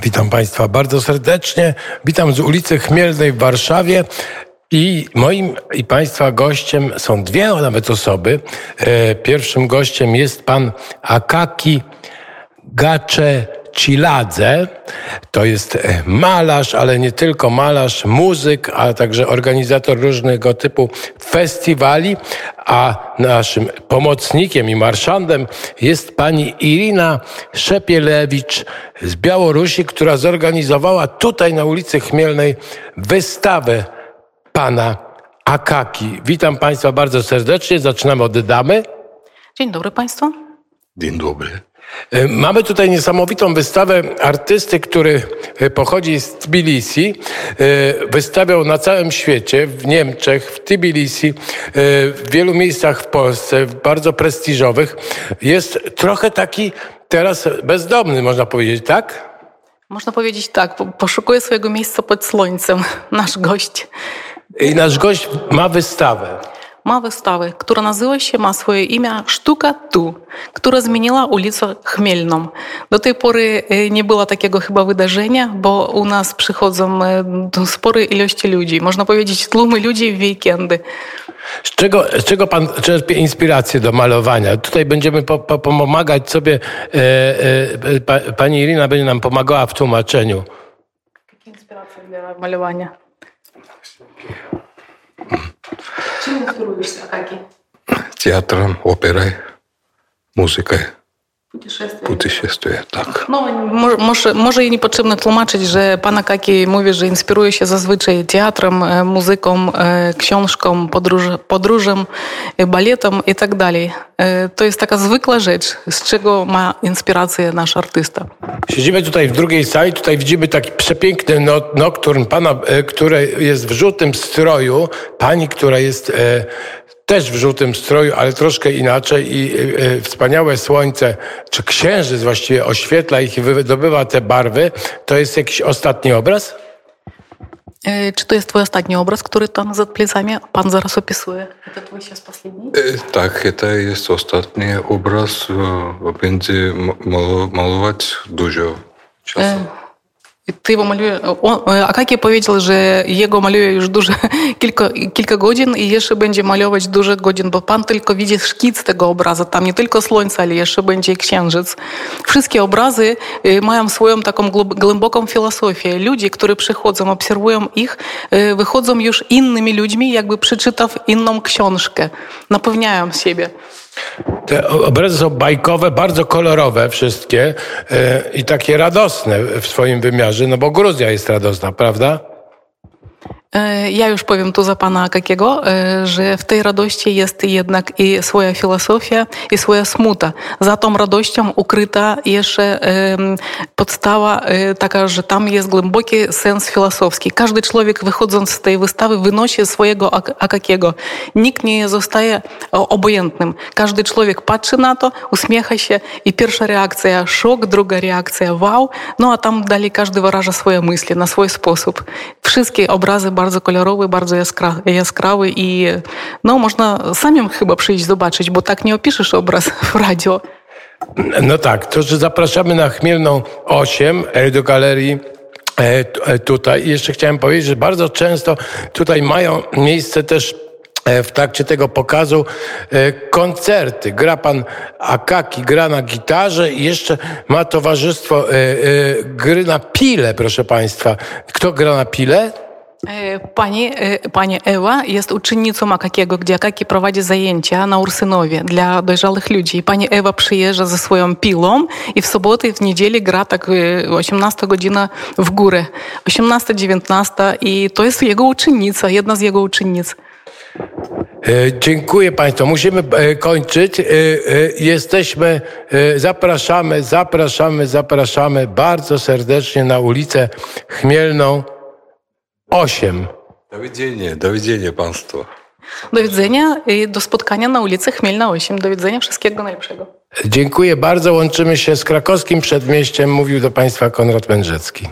Witam Państwa bardzo serdecznie. Witam z ulicy Chmielnej w Warszawie. I moim i Państwa gościem są dwie nawet osoby. Pierwszym gościem jest pan Akaki Gaceciladze. To jest malarz, ale nie tylko malarz, muzyk, a także organizator różnego typu festiwali. A naszym pomocnikiem i marszandem jest pani Irina Szepielewicz z Białorusi, która zorganizowała tutaj na ulicy Chmielnej wystawę pana Akaki. Witam Państwa bardzo serdecznie. Zaczynamy od damy. Dzień dobry Państwu. Dzień dobry. Mamy tutaj niesamowitą wystawę artysty, który pochodzi z Tbilisi. Wystawiał na całym świecie, w Niemczech, w Tbilisi, w wielu miejscach w Polsce, bardzo prestiżowych. Jest trochę taki teraz bezdomny, można powiedzieć, tak? Można powiedzieć tak, poszukuje swojego miejsca pod słońcem, nasz gość. I nasz gość ma wystawę. Ma wystawę, która ma swoje imię Sztuka Tu, która zmieniła ulicę Chmielną. Do tej pory nie było takiego chyba wydarzenia, bo u nas przychodzą spore ilości ludzi. Można powiedzieć tłumy ludzi w weekendy. Z czego pan czerpie inspirację do malowania? Tutaj będziemy pomagać sobie. Pani Irina będzie nam pomagała w tłumaczeniu. Jakie inspiracje dla malowania? Czym inspirujesz się, Akaki? Театром, оперой, muzykой. Putешествие, tak. No, może i nie potrzebne tłumaczyć, że pan Akaki mówi, że inspiruje się zazwyczaj teatrem, muzyką, książką, podróżem, baletem i tak dalej. To jest taka zwykła rzecz, z czego ma inspirację nasz artysta. Siedzimy tutaj w drugiej sali, tutaj widzimy taki przepiękny nokturn pana, który jest w żółtym stroju, pani, która jest też w żółtym stroju, ale troszkę inaczej i wspaniałe słońce, czy księżyc właściwie oświetla ich i wydobywa te barwy. To jest jakiś ostatni obraz? Czy to jest twój ostatni obraz, który tam za plecami pan zaraz opisuje? To twój się последний? Tak, to jest ostatni obraz. Będzie malować dużo czasu. Ty go maluje. Akaki powiedział, że jego maluje już kilka godzin i jeszcze będzie malować dużo godzin, bo pan tylko widzi szkic tego obrazu. Tam nie tylko słońce, ale jeszcze będzie księżyc. Wszystkie obrazy mają swoją taką głęboką filozofię. Ludzie, którzy przychodzą, obserwują ich, wychodzą już innymi ludźmi, jakby przeczytав inną książkę. Napełniają siebie. Te obrazy są bajkowe, bardzo kolorowe wszystkie i takie radosne w swoim wymiarze, no bo Gruzja jest radosna, prawda? Ja już powiem tu za pana Akakiego, że w tej radości jest jednak i swoja filozofia, i swoja smuta. Za tą radością ukryta jeszcze podstawa taka, że tam jest głęboki sens filozofski. Każdy człowiek wychodząc z tej wystawy wynosi swojego Akakiego. Nikt nie zostaje obojętnym. Każdy człowiek patrzy na to, uśmiecha się i pierwsza reakcja szok, druga reakcja wow, no a tam dalej każdy wyraża swoje myśli na swój sposób. Wszystkie obrazy bardzo kolorowy, bardzo jaskrawy i no można samym chyba przyjść zobaczyć, bo tak nie opiszesz obraz w radio. No tak, to że zapraszamy na Chmielną 8 do galerii tutaj. I jeszcze chciałem powiedzieć, że bardzo często tutaj mają miejsce też w trakcie tego pokazu koncerty. Gra pan Akaki, gra na gitarze i jeszcze ma towarzystwo gry na pile, proszę państwa. Kto gra na pile? Pani Ewa jest uczennicą Akakiego, gdzie Akaki prowadzi zajęcia na Ursynowie dla dojrzałych ludzi. I pani Ewa przyjeżdża ze swoją pilą i w sobotę i w niedzielę gra tak 18 godzina w górę. 18-19 i to jest jego uczennica, jedna z jego uczennic. Dziękuję Państwu. Musimy kończyć. Jesteśmy, zapraszamy bardzo serdecznie na ulicę Chmielną 8. Do widzenia Państwu. Do widzenia i do spotkania na ulicy Chmielna 8. Do widzenia, wszystkiego najlepszego. Dziękuję bardzo. Łączymy się z krakowskim przedmieściem. Mówił do Państwa Konrad Mędrzecki.